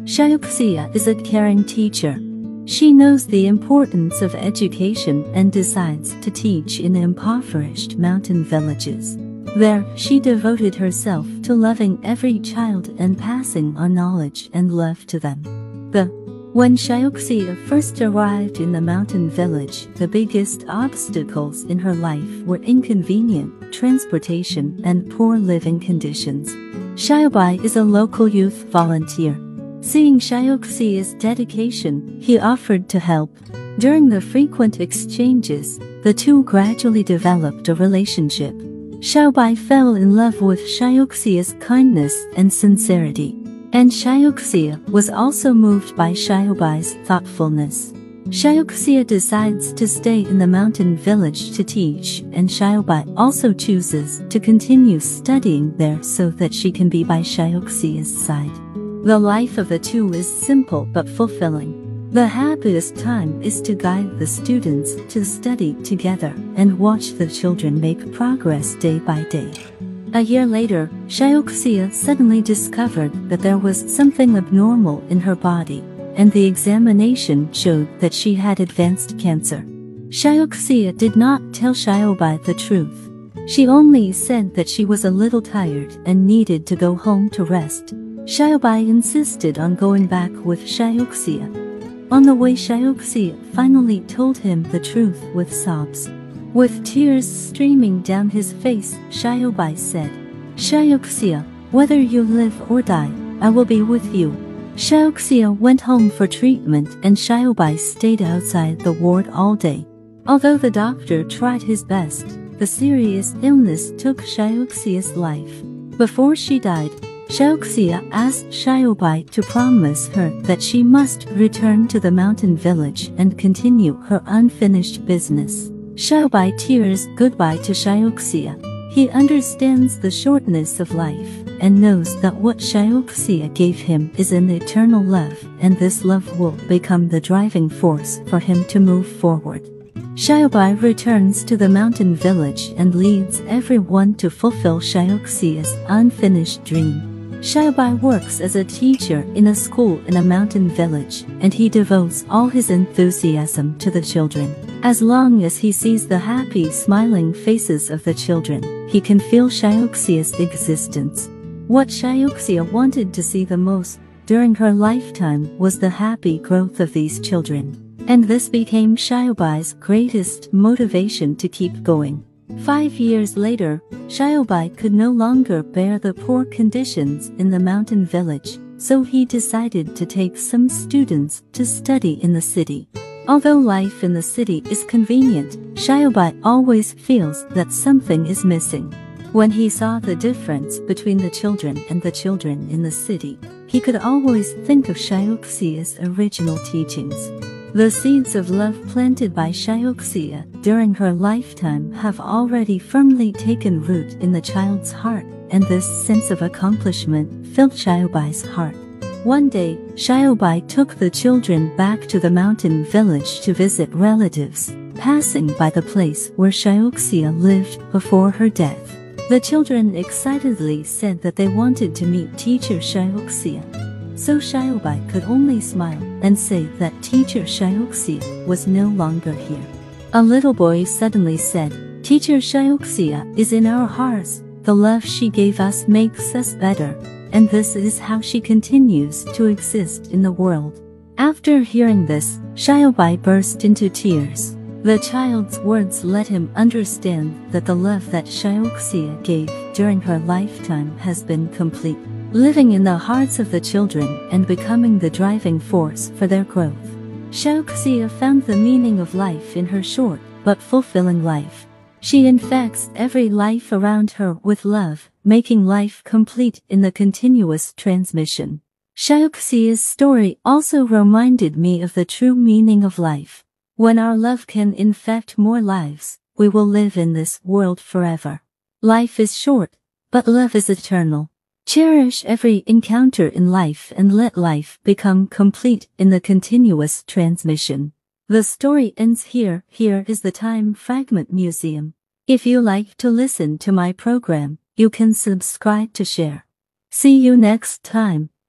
Xiaoxia is a caring teacher. She knows the importance of education and decides to teach in impoverished mountain villages. There, she devoted herself to loving every child and passing on knowledge and love to them. When Xiaoxia first arrived in the mountain village, the biggest obstacles in her life were inconvenient transportation and poor living conditions. Xiaobai is a local youth volunteer. Seeing Xiaoxia's dedication, he offered to help. During the frequent exchanges, the two gradually developed a relationship. Xiaobai fell in love with Xiaoxia's kindness and sincerity. And Xiaoxia was also moved by Xiaobai's thoughtfulness. Xiaoxia decides to stay in the mountain village to teach, and Xiaobai also chooses to continue studying there so that she can be by Xiaoxia's side. The life of the two is simple but fulfilling. The happiest time is to guide the students to study together and watch the children make progress day by day. A year later, Xiaoxia suddenly discovered that there was something abnormal in her body, and the examination showed that she had advanced cancer. Xiaoxia did not tell Xiaobai the truth. She only said that she was a little tired and needed to go home to rest. Xiaobai insisted on going back with Xiaoxia. On the way, Xiaoxia finally told him the truth with sobs. With tears streaming down his face, Xiaobai said, "Xiaoxia, whether you live or die, I will be with you." Xiaoxia went home for treatment and Xiaobai stayed outside the ward all day. Although the doctor tried his best, the serious illness took Xiaoxia's life. Before she died, Xiaoxia asked Xiaobai to promise her that she must return to the mountain village and continue her unfinished business. Xiaobai tears goodbye to Xiaoxia. He understands the shortness of life and knows that what Xiaoxia gave him is an eternal love, and this love will become the driving force for him to move forward. Xiaobai returns to the mountain village and leads everyone to fulfill Xiaoxia's unfinished dream. Xiaobai works as a teacher in a school in a mountain village, and he devotes all his enthusiasm to the children. As long as he sees the happy, smiling faces of the children, he can feel Xiaoxia's existence. What Xiaoxia wanted to see the most during her lifetime was the happy growth of these children. And this became Xiaobai's greatest motivation to keep going. 5 years later, Xiaobai could no longer bear the poor conditions in the mountain village, so he decided to take some students to study in the city. Although life in the city is convenient, Xiaobai always feels that something is missing. When he saw the difference between the children and the children in the city, he could always think of Xiaoxia's original teachings. The seeds of love planted by Xiaoxia during her lifetime have already firmly taken root in the child's heart, and this sense of accomplishment filled Xiaobai's heart. One day, Xiaobai took the children back to the mountain village to visit relatives, passing by the place where Xiaoxia lived before her death. The children excitedly said that they wanted to meet teacher Xiaoxia. So Xiaobai could only smile and say that teacher Xiaoxia was no longer here. A little boy suddenly said, "Teacher Xiaoxia is in our hearts. The love she gave us makes us better, and this is how she continues to exist in the world." After hearing this, Xiaobai burst into tears. The child's words let him understand that the love that Xiaoxia gave during her lifetime has been complete, living in the hearts of the children and becoming the driving force for their growth. Xiaoxia found the meaning of life in her short but fulfilling life. She infects every life around her with love, making life complete in the continuous transmission. Xiaoxia's story also reminded me of the true meaning of life. When our love can infect more lives, we will live in this world forever. Life is short, but love is eternal. Cherish every encounter in life and let life become complete in the continuous transmission. The story ends here. Here is the Time Fragment Museum. If you like to listen to my program, you can subscribe to share. See you next time.